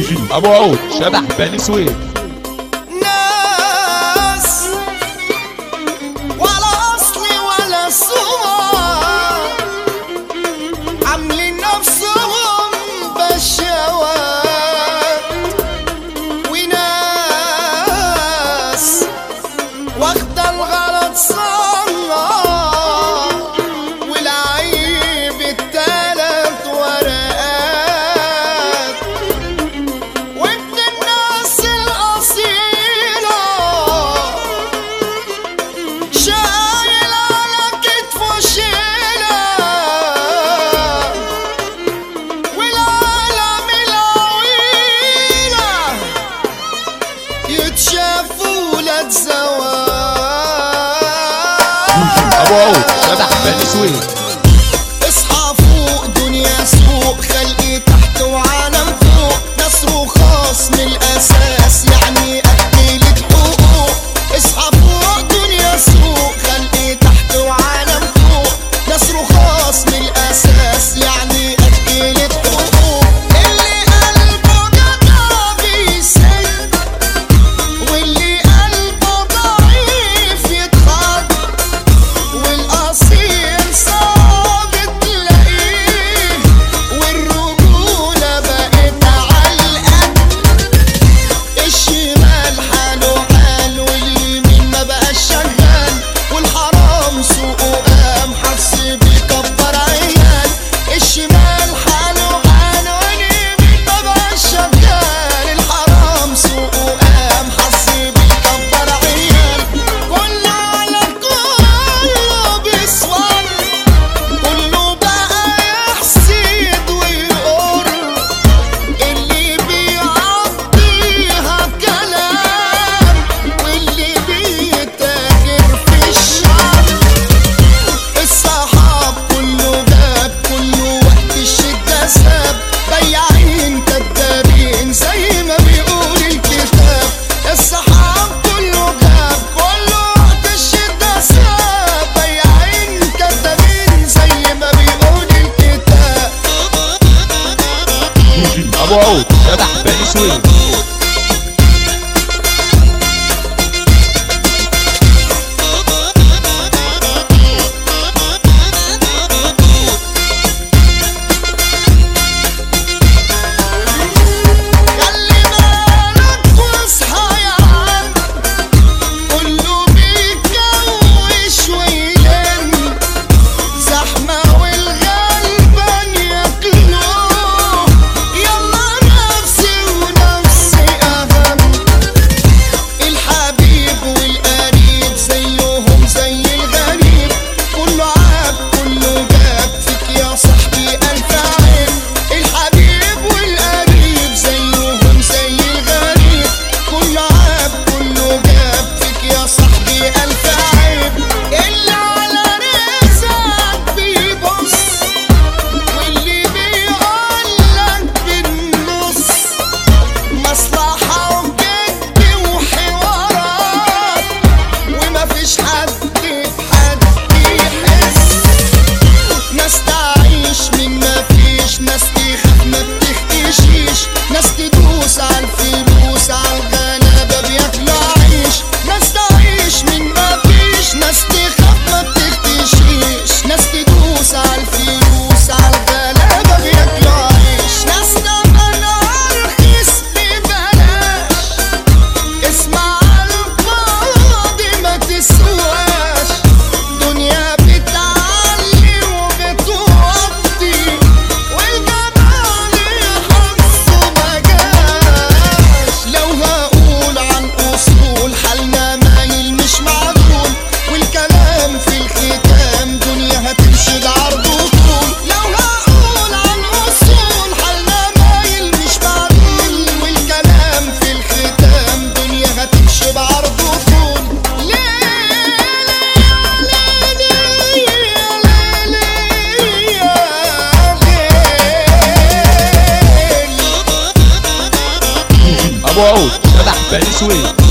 ابو عود شبح بني سويف. ناس ولا اصلي ولا سمعة عاملين نفسهم بشوات، وناس واخدة الغلط صنع والعيب التلات ورقات، وابن الناس الأصيلة شايل على كتفه شيلة، والعالم العويلة يتشافوا لا ابو عود شبح بني سويف. اصحى فوق دنيا سوق، خلقي تحت وعالم فوق، نصر وخاص من الاساس يعني اكلت حقوق. اصحى فوق دنيا سوق، خلقي تحت وعالم فوق، نصر وخاص من الاساس يعني اكلت حقوق. اللي قلبه جدع بيسد، واللي قلبه ضعيف يتخض، والاصيل صعب تلاقيه، والرجولة بقت عالقد. الشمال حاله حال واليمين ما بقاش شغال، والحرام سوقه قام حس بيكبر عيال. الشمال حاله حال واليمين ما بقاش شغال، الحرام سوقه قام حس بيكبر عيال. كله على كله بيصور، كله بقى يحسد ويقر، اللي بيعطيها كلام واللي بيتاجر في الشعب. الصحاب كله جاب، كله وقت الشدة ساب، بياعين كدابين زي ما بيقول الكتاب. الصحاب كله جاب، كله وقت الشدة ساب، بياعين كدابين زي ما بيقول الكتاب. ابو عود شبح بني سويف. خلي بالك واصحى يا عم، كله بيتجوش ويلم، زحمة والغلبان ياكلوه، يلا نفسي ونفسي أهم. الحبيب والقريب زيهم زي الغريب، كله عاب كله جاب فيك يا صاحبي ألف عيب. الحبيب والقريب زيهم زي الغريب، كله عاب كله جاب فيك يا صاحبي ألف عيب. اللي على رزقك بيبص، واللي بيقولك بالنص، مصلحة وجد وحوارات، ومفيش حد بحد يحس. ناس تعيش من مفيش، ناس تخاف ما بتختشيش، ناس تدوس عالفلوس عالغلابة بياكلوا عيش. ناس تعيش من مفيش، ناس تخاف ما بتختشيش، ناس تدوس عالفلوس عالغلابة بياكلوا عيش. ناس تمنى رخيص ببلاش، اسمع الفاضي ما تسواش، دنيا بتعلي وبتوطي، والجمال يحسه ما جاش. لو هقول عن أصول حالنا مايل مش معدول، والكلام في الختام دنيا هتمشي بعرض وطول. لو هقول عن أصول حالنا مايل مش معدول، والكلام في الختام دنيا هتمشي بعرض وطول. ابو عود شبح بني سويف.